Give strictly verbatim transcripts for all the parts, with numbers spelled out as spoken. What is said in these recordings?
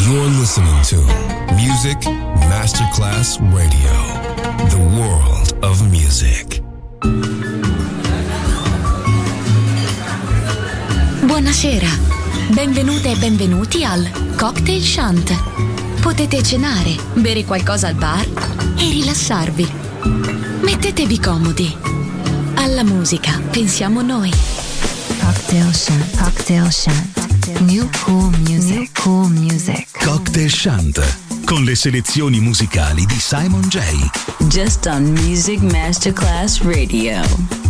You're listening to Music Masterclass Radio, the world of music. Buonasera, benvenute e benvenuti al Cocktail Shant. Potete cenare, bere qualcosa al bar e rilassarvi. Mettetevi comodi. Alla musica pensiamo noi. Cocktail Shant, Cocktail Shant. New Cool Music, New Cool Music. Cocktail Shant, con le selezioni musicali di Simon J. Just on Music Masterclass Radio.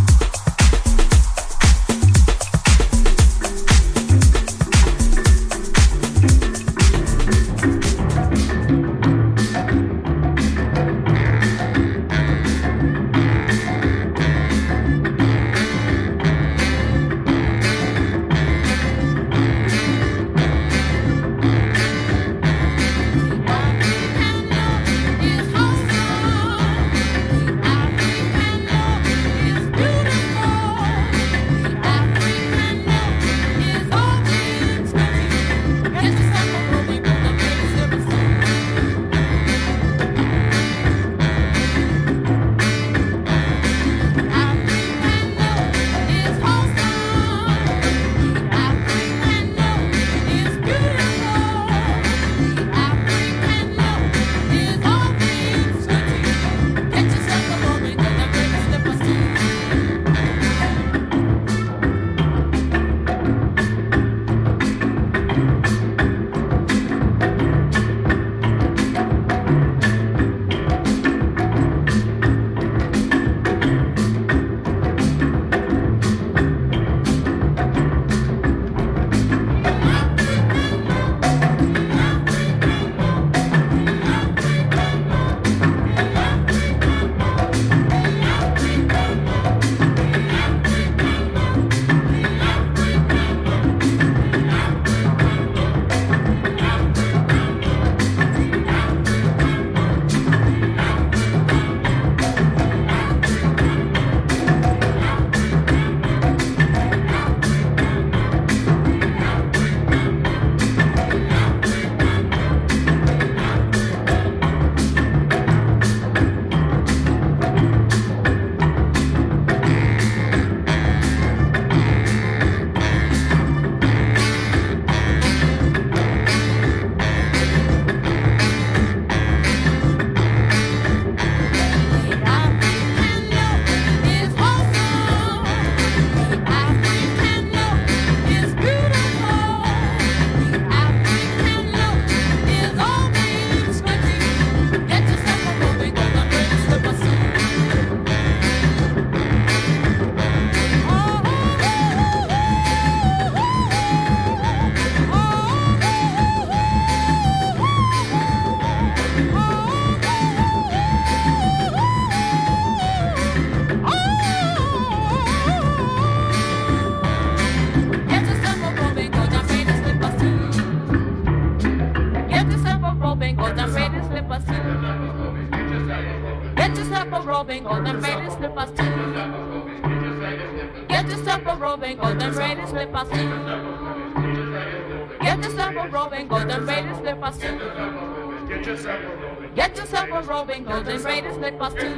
Get yourself a robing, golden braided slippers too.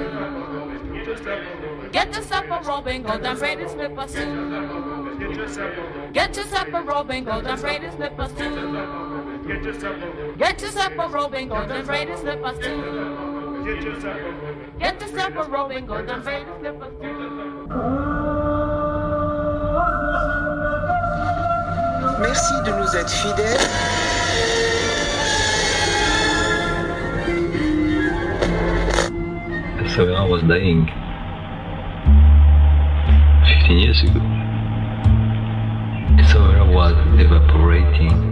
Get yourself a robing, golden braided slippers too. Get yourself a robing, golden braided slippers too. Get yourself a robing, golden braided slippers too. Get yourself a robing, golden braided slippers too. Merci de nous être fidèles. Savera was dying fifteen years ago. Savera was evaporating.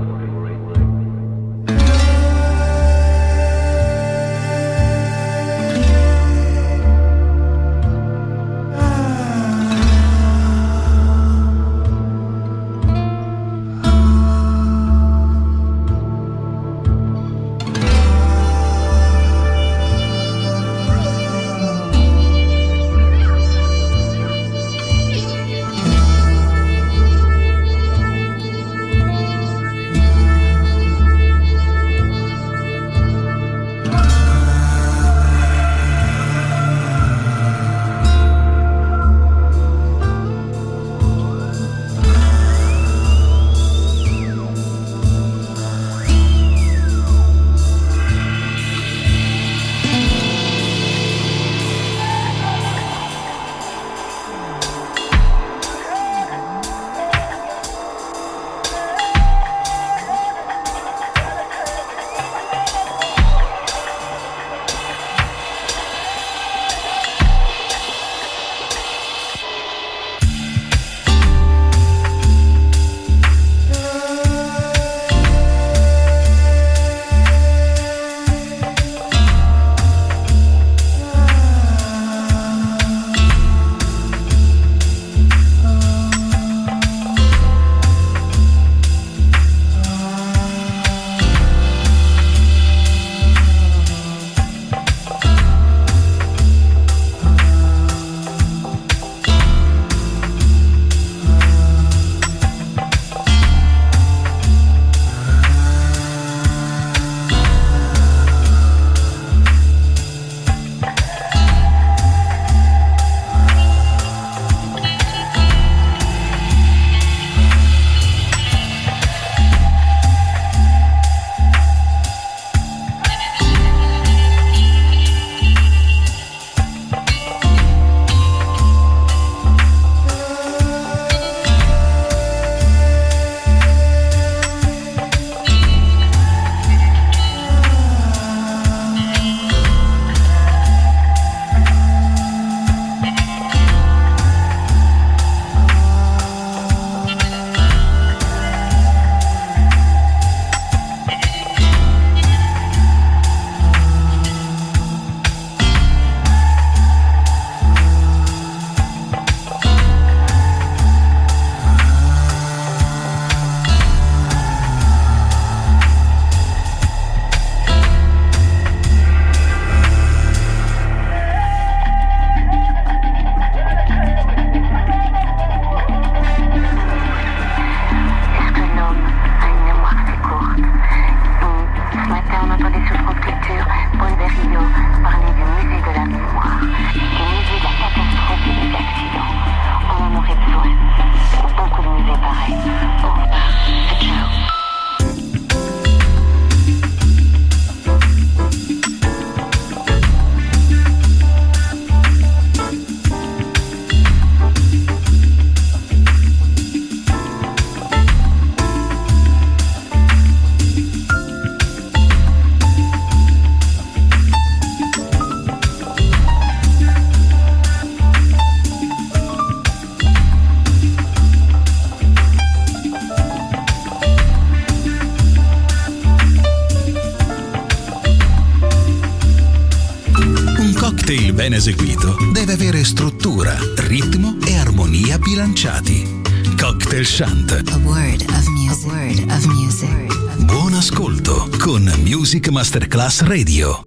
ben eseguito, deve avere struttura, ritmo e armonia bilanciati. Cocktail Chant. A word of music. A word of music. Buon ascolto con Music Masterclass Radio.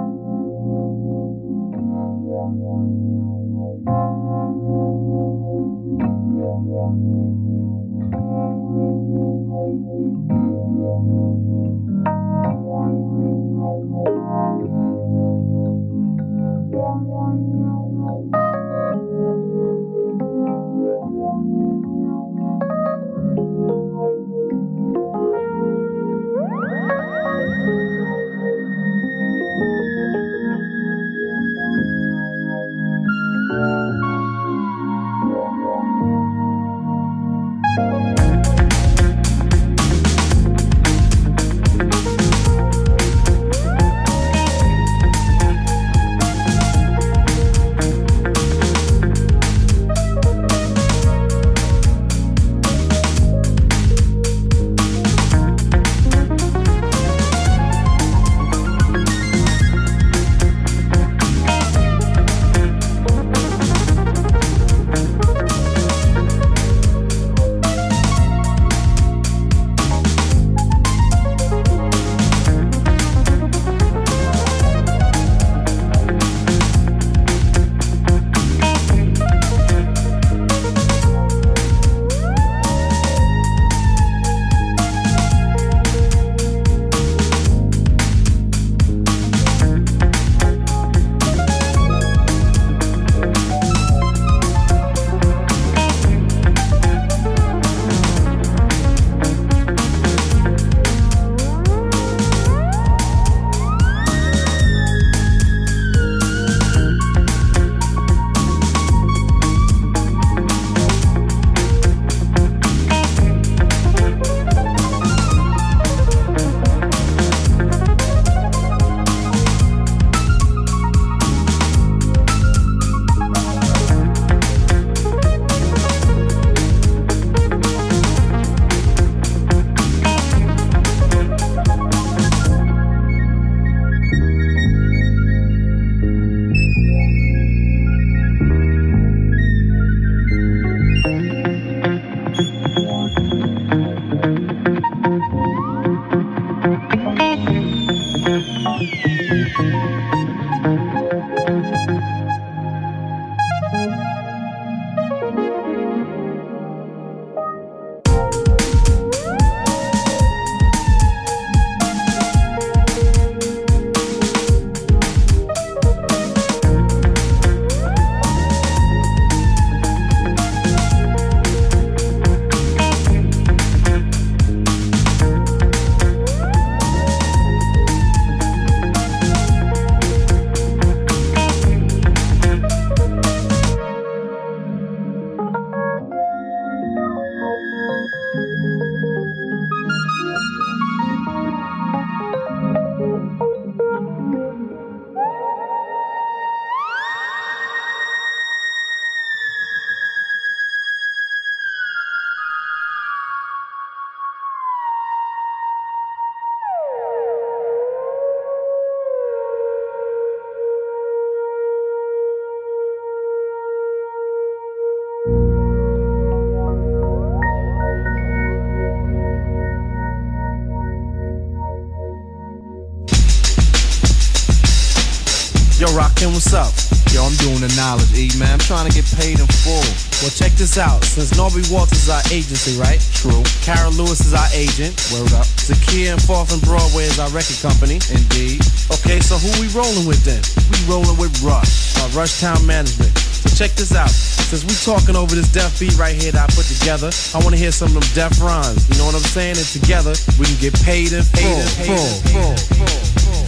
Yo, Rakim, what's up? Yo, I'm doing the knowledge, E, man. I'm trying to get paid in full. Well, check this out. Since Norby Walters is our agency, right? True. Carol Lewis is our agent. Word up. Zakia and Fourth and Broadway is our record company. Indeed. Okay, so who we rolling with then? We rolling with Rush. Uh, Rush Town Management. So check this out. Since we talking over this deaf beat right here that I put together, I want to hear some of them deaf rhymes. You know what I'm saying? And together, we can get paid in full. Paid in full. Full. Full. Full.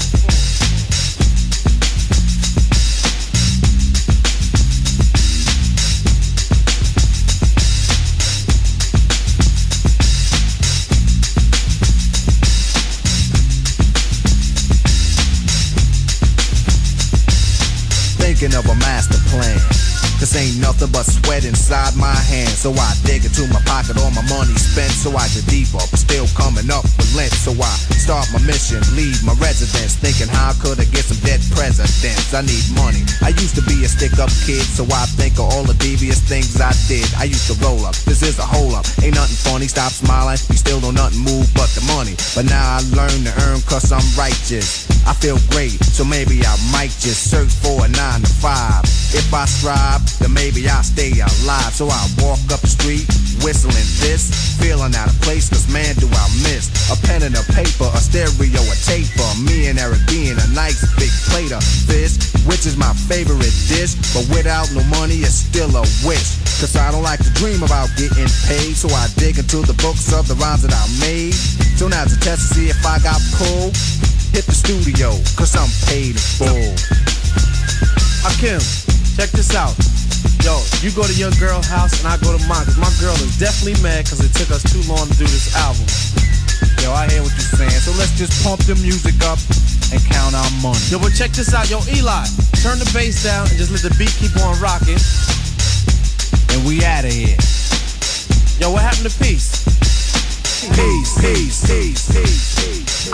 Thinking of a master plan, cause ain't nothing but sweat inside my hands. So I dig into my pocket, all my money spent. So I get deeper, but still coming up with length. So I Start my mission, leave my residence, thinking how could I get some dead presidents? I need money. I used to be a stick-up kid, so I think of all the devious things I did. I used to roll up, this is a hole-up. Ain't nothing funny, stop smiling, you still don't nothing move but the money. But now I learn to earn cause I'm righteous. I feel great, so maybe I might just search for a nine to five. If I strive, then maybe I'll stay alive. So I walk up the street, whistling this, feeling out of place, cause man do I miss a pen and a paper, a stereo, a taper. Me and Eric being a nice big plate of fish, which is my favorite dish. But without no money, it's still a wish. Cause I don't like to dream about getting paid, so I dig into the books of the rhymes that I made. So now to test to see if I got pulled, hit the studio, cause I'm paid in full. Hakim, check this out. Yo, you go to your girl's house and I go to mine, cause my girl is definitely mad cause it took us too long to do this album. Yo, I hear what you're saying, so let's just pump the music up and count our money. Yo, but check this out. Yo, Eli, turn the bass down and just let the beat keep on rocking. And we outta here. Yo, what happened to peace? Peace, peace, peace, peace, peace.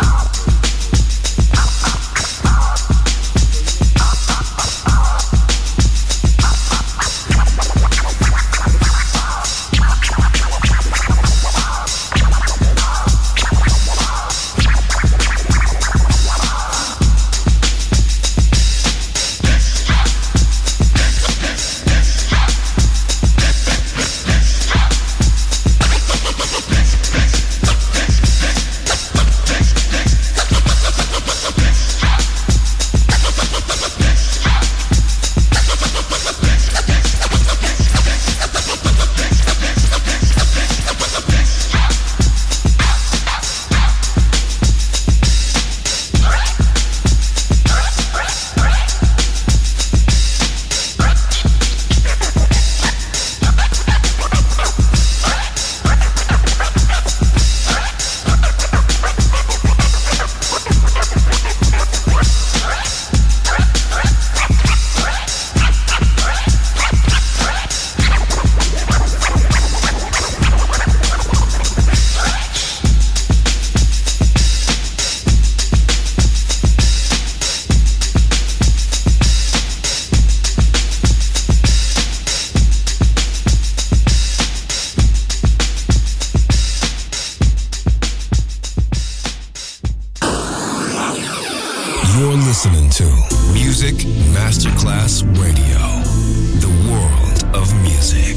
You're listening to Music Masterclass Radio, the world of music.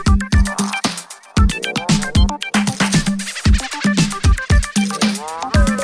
Bye.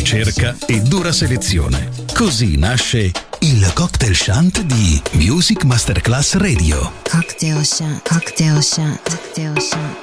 ricerca e dura selezione. Così nasce il Cocktail Shant di Music Masterclass Radio. Cocktail Shant, Cocktail Shant, Cocktail Shant.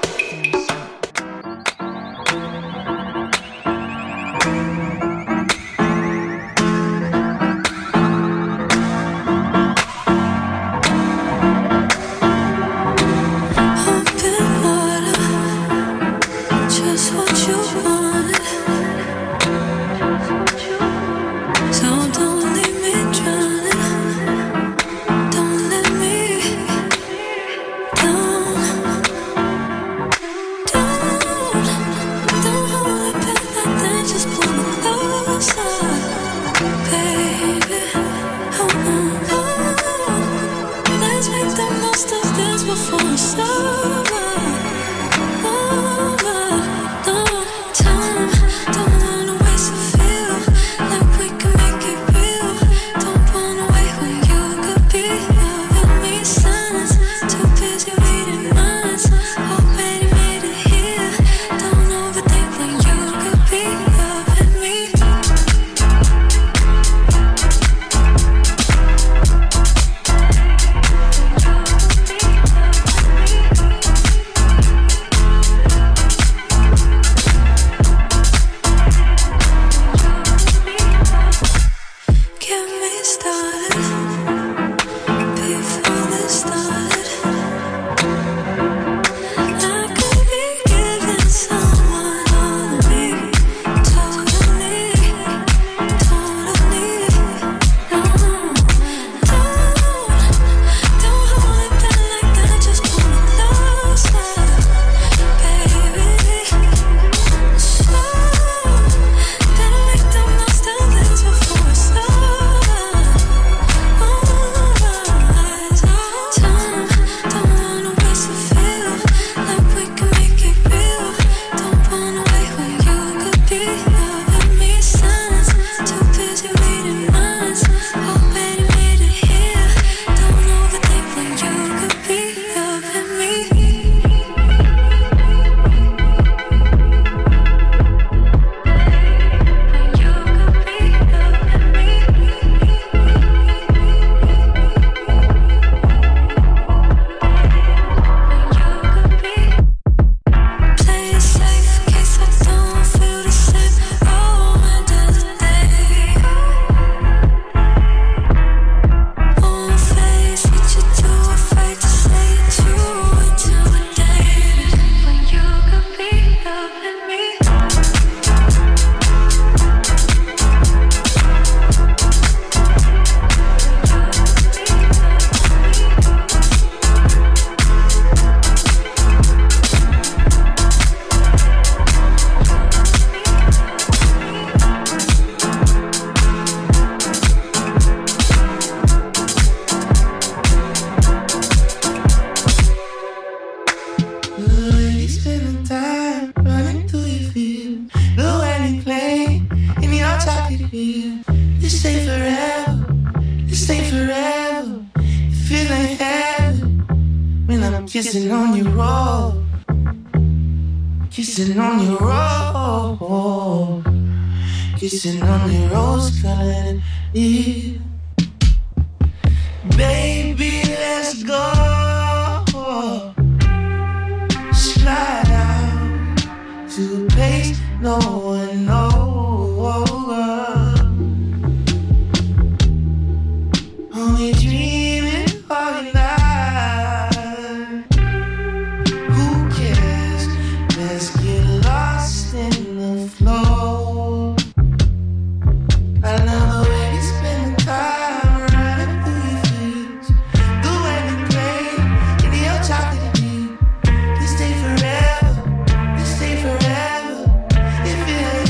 If it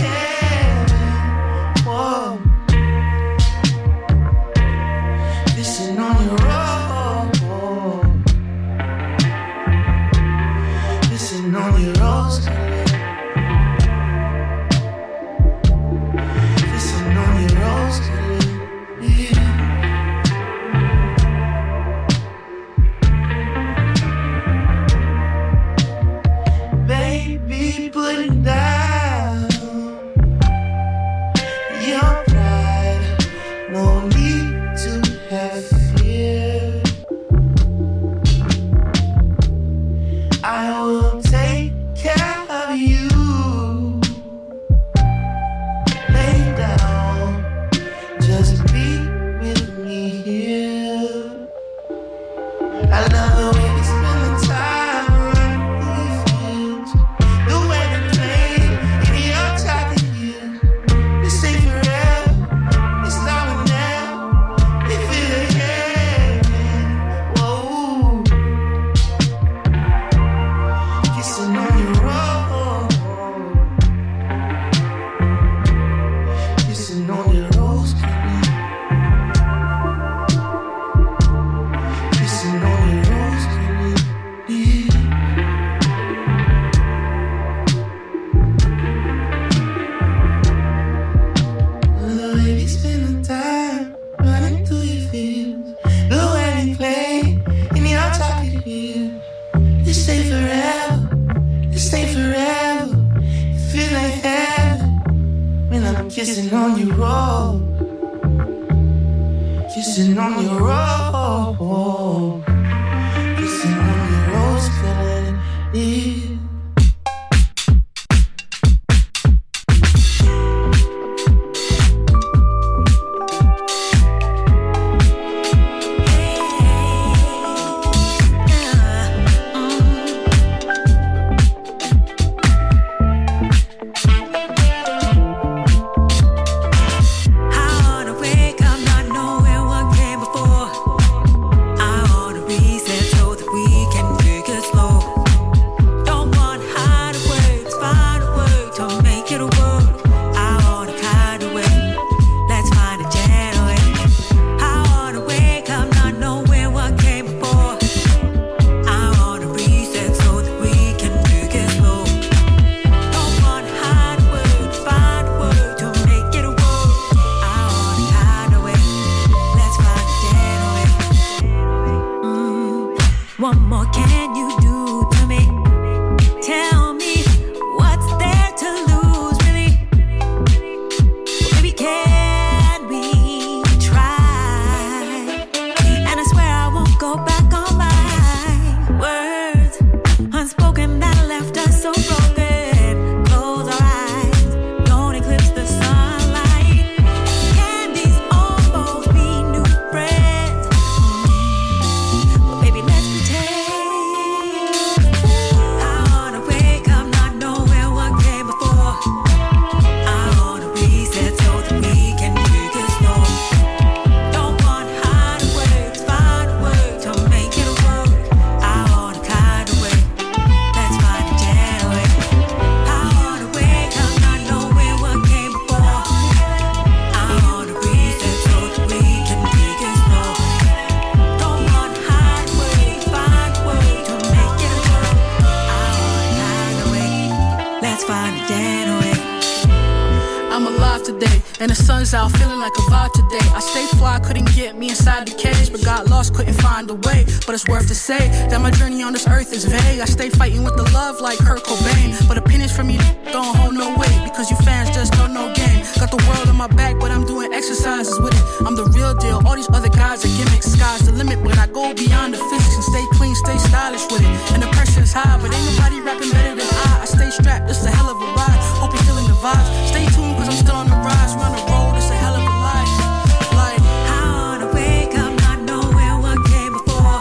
And the sun's out, feeling like a vibe today. I stay fly, couldn't get me inside the cage, but got lost, couldn't find a way. But it's worth to say that my journey on this earth is vague. I stay fighting with the love like Kurt Cobain, but opinions from you don't hold no weight, because you fans just don't know game. Got the world on my back, but I'm doing exercises with it. I'm the real deal, all these other guys are gimmicks. Sky's the limit, but I go beyond the physics and stay clean, stay stylish with it. And the pressure's high, but ain't nobody rapping better than I. I stay strapped, it's a hell of a ride. Hope you're feeling the vibes. Stay tuned, cause I'm still on the rise. We're on the road, it's a hell of a life. Like, I wanna wake up not knowing what came before.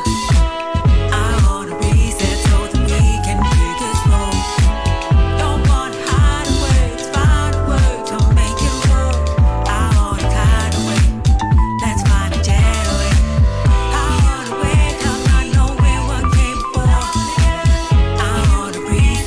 I wanna reset so that we can take it slow. Don't wanna hide away, just find a way to make it work. I wanna kind of way, let's find a gentle way. I wanna wake up not knowing what came before. I wanna reset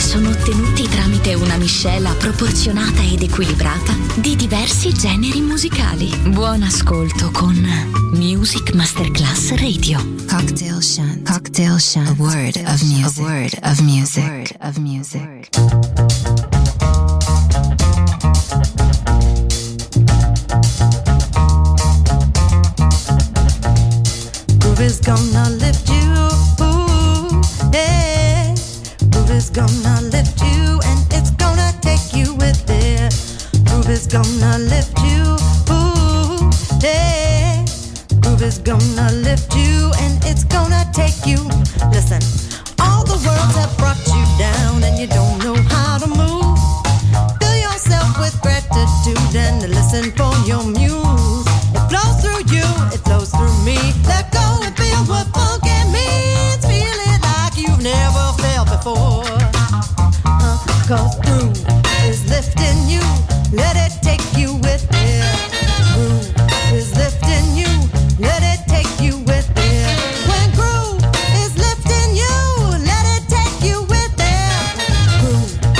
sono ottenuti tramite una miscela proporzionata ed equilibrata di diversi generi musicali. Buon ascolto con Music Masterclass Radio. Cocktail Shant. Cocktail Shant. A word of music. A word of music. A word of music. Groove is gonna lift you, ooh, yeah. Groove is gonna lift you and it's gonna take you with it. Groove is gonna lift you, ooh, yeah. Groove is gonna lift you and it's gonna take you. Listen, all the worlds have brought you down and you don't know how to move. Fill yourself with gratitude and listen for your muse. It flows through you, it flows through me. Let go and feel what funky means. Feel it like you've never felt before. Uh, Cause groove is lifting you. Let it take you with it. Groove is lifting you. Let it take you with it. When groove is lifting you, let it take you with it. Groove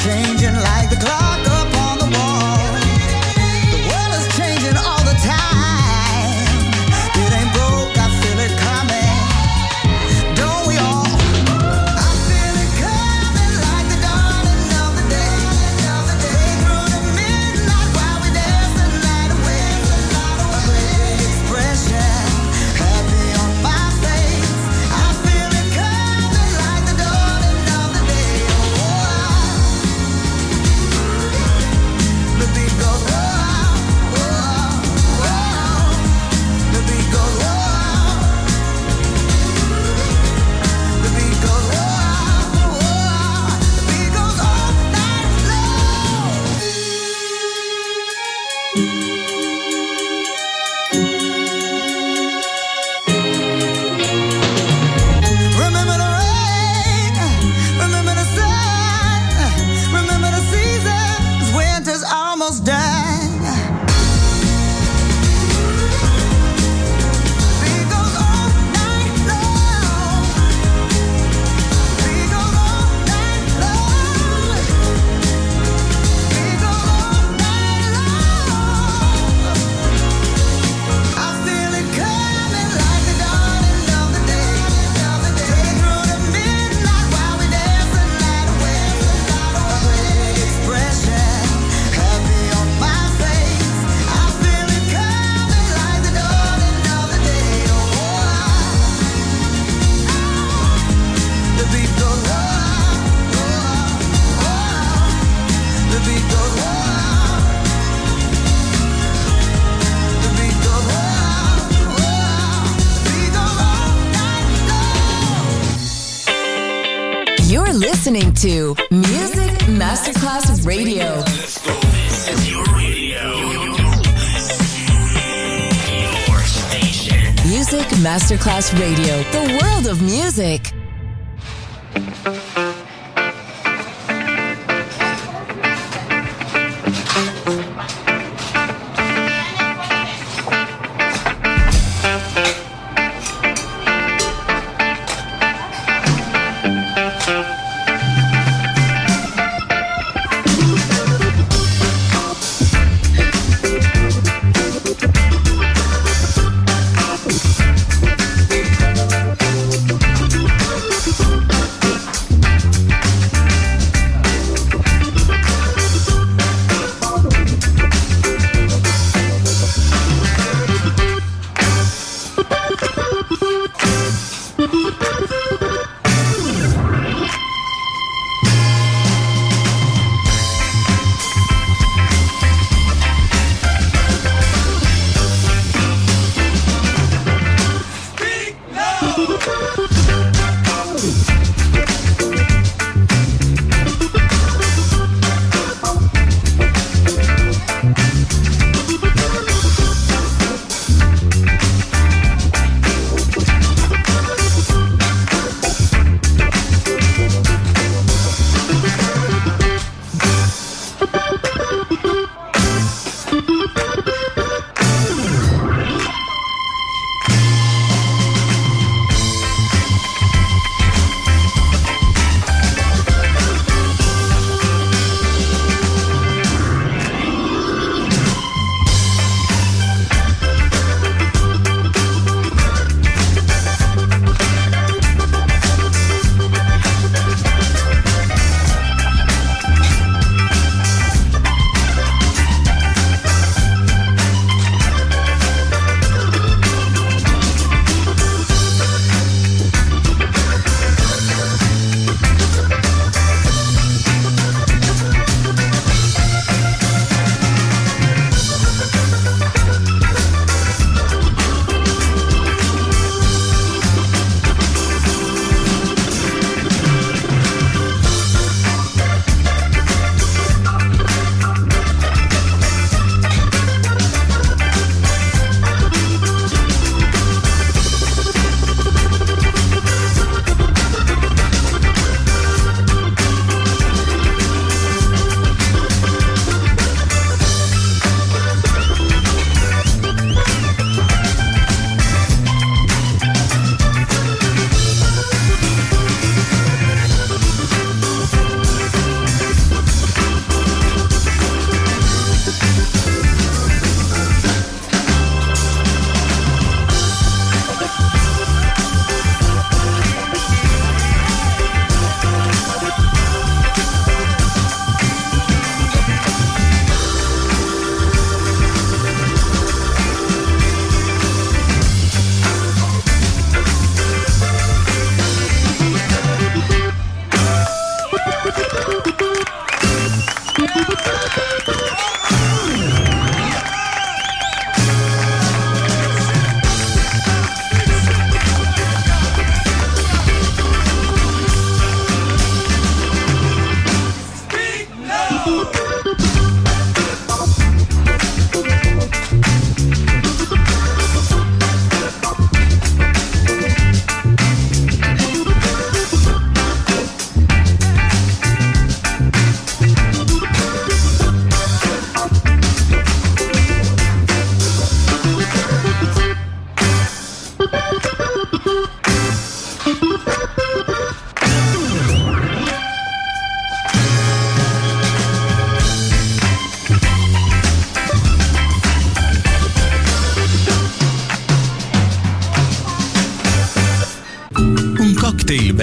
changing like the clock upon the wall. The world is changing all the time. It ain't broke, I feel it coming. Don't we all? I feel it coming like the dawning of the day. Day through the midnight while we dance the night away. A great expression, happy on my face. I feel it coming like the dawning of the day. The beat goes whoa, whoa, whoa. The beat goes whoa. The beat goes whoa, whoa. The beat goes all night long. Remember the rain, remember the sun, remember the seasons, winter's almost done. Beat goes all night long. Beat goes all night long. Beat goes all night long. I feel it coming like the dawning of the day. Day through the midnight while we dance the night away. A great expression, happy on my face. I feel it coming like the dawning of the day. The beat goes whoa, whoa, whoa. The beat goes whoa. The beat goes whoa, whoa. The beat goes all night long. You're listening to Music Masterclass Radio. This is your radio. Your station. Music Masterclass Radio, the world of music.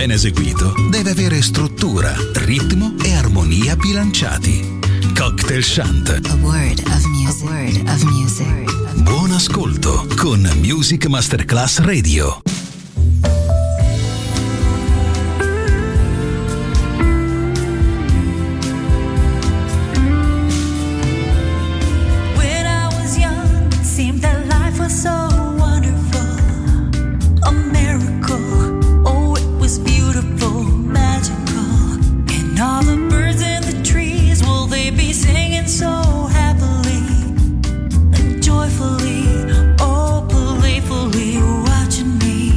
ben eseguito, deve avere struttura, ritmo e armonia bilanciati. Cocktail Chant. A word of music. A word of music. Buon ascolto con Music Masterclass Radio. When I was young, it seemed that life was so wonderful, a miracle. Oh, it was beautiful, magical. And all the birds in the trees, will they be singing so happily and joyfully, oh, playfully watching me?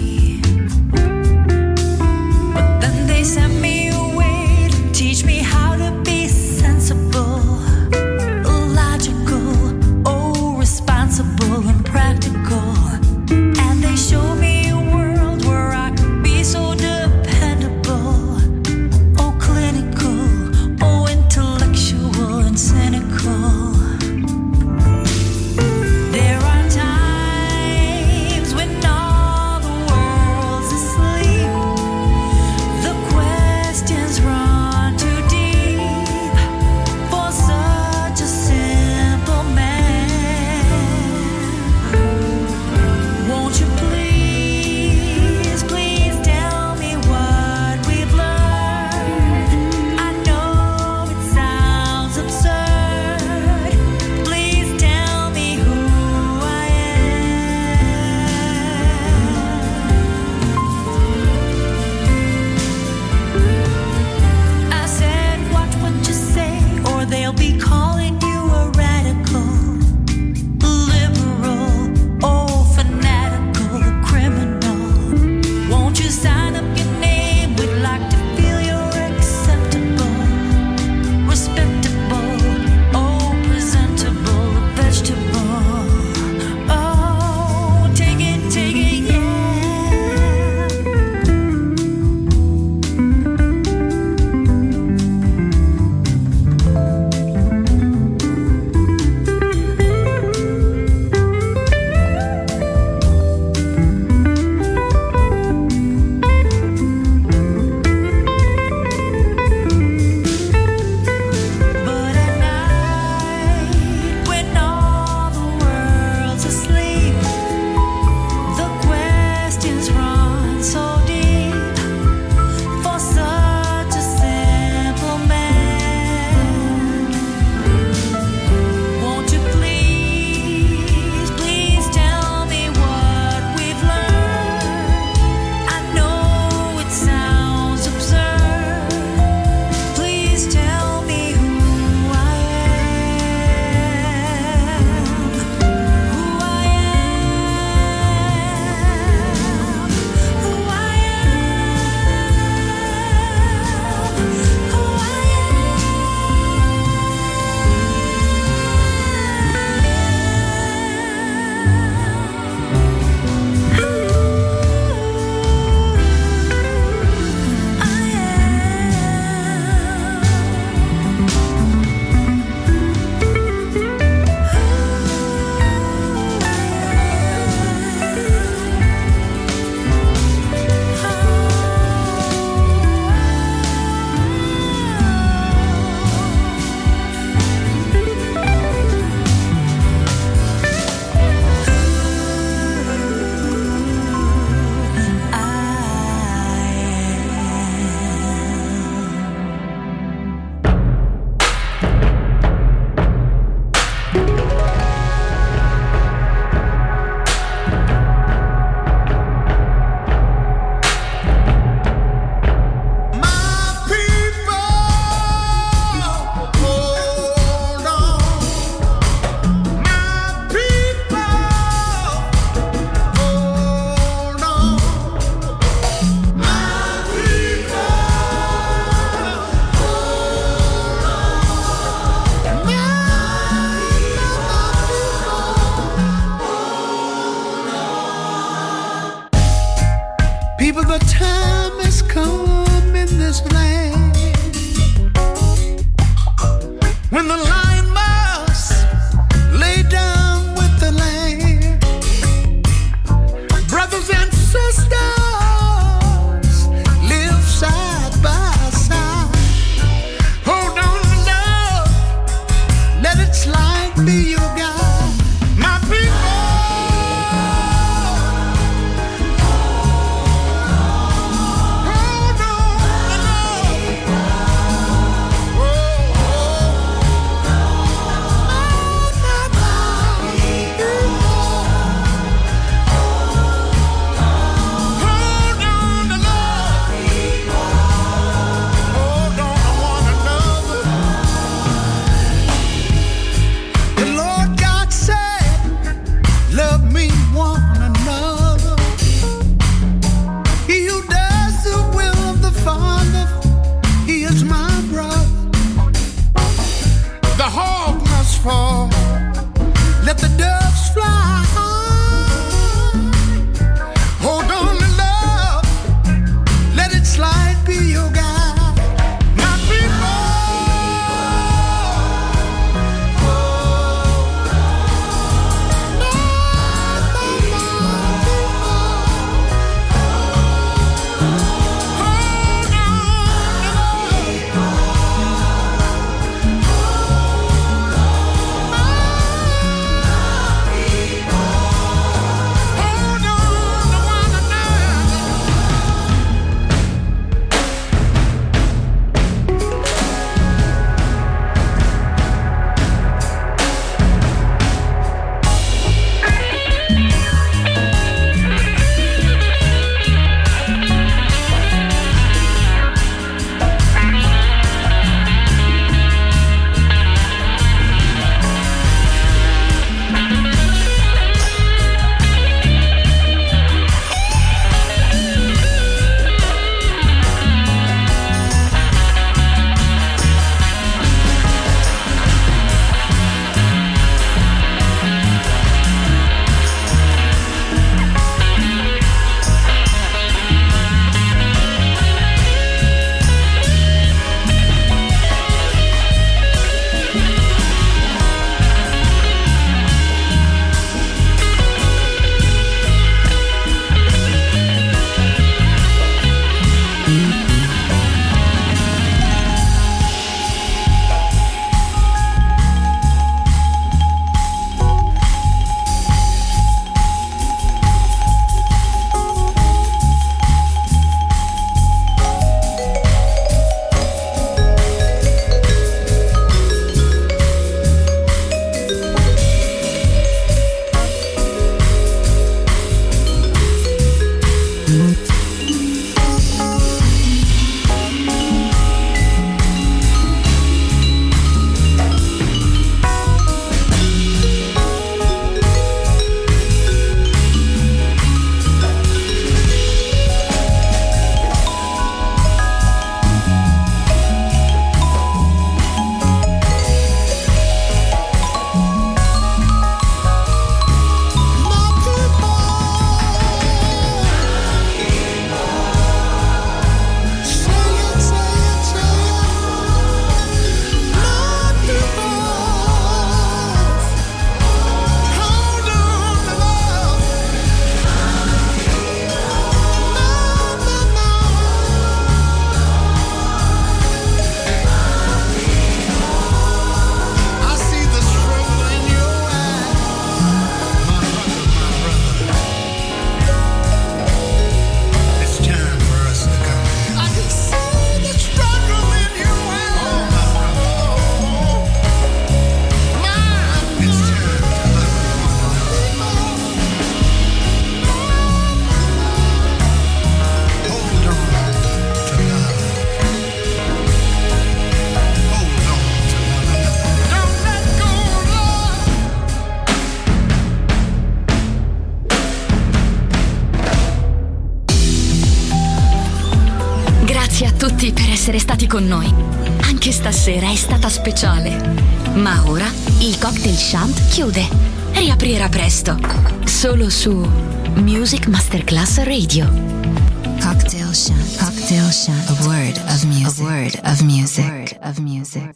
essere stati con noi. Anche stasera è stata speciale. Ma ora il Cocktail Shant chiude. Riaprirà presto. Solo su Music Masterclass Radio. Cocktail Shant. Cocktail Shant. A word of music. A word of music. A word of music.